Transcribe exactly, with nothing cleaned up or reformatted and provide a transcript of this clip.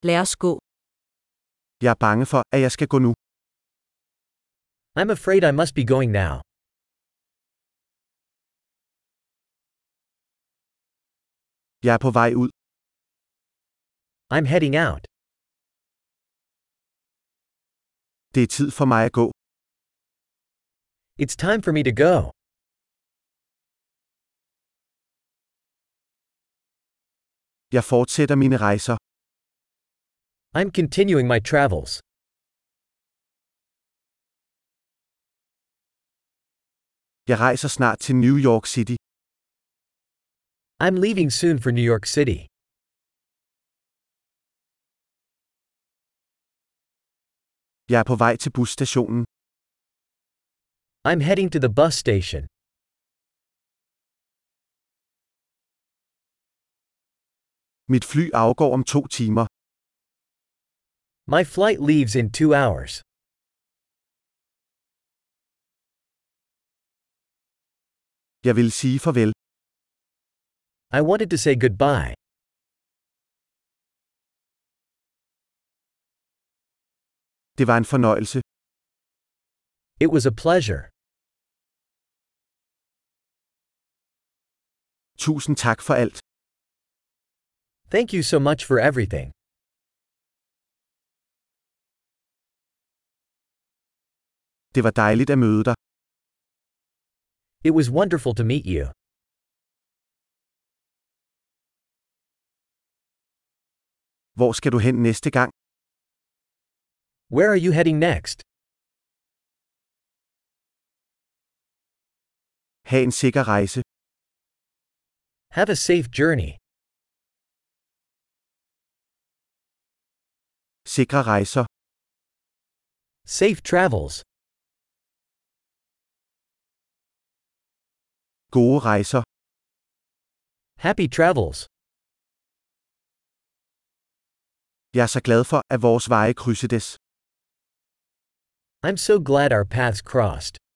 Lad os gå. Jeg er bange for, at jeg skal gå nu. I'm afraid I must be going now. Jeg er på vej ud. I'm heading out. Det er tid for mig at gå. It's time for me to go. Jeg fortsætter mine rejser. I'm continuing my travels. Jeg rejser snart til New York City. I'm leaving soon for New York City. Jeg er på vej til busstationen. I'm heading to the bus station. Mit fly afgår om to timer. My flight leaves in two hours. Jeg vil sige farvel. I wanted to say goodbye. Det var en fornøjelse. It was a pleasure. Tusind tak for alt. Thank you so much for everything. Det var dejligt at møde dig. It was wonderful to meet you. Hvor skal du hen næste gang? Where are you heading next? Ha' en sikker rejse. Have a safe journey. Sikre rejser. Safe travels. Gode rejser. Happy travels. Jeg er så glad for, at vores veje krydsedes. I'm so glad our paths crossed.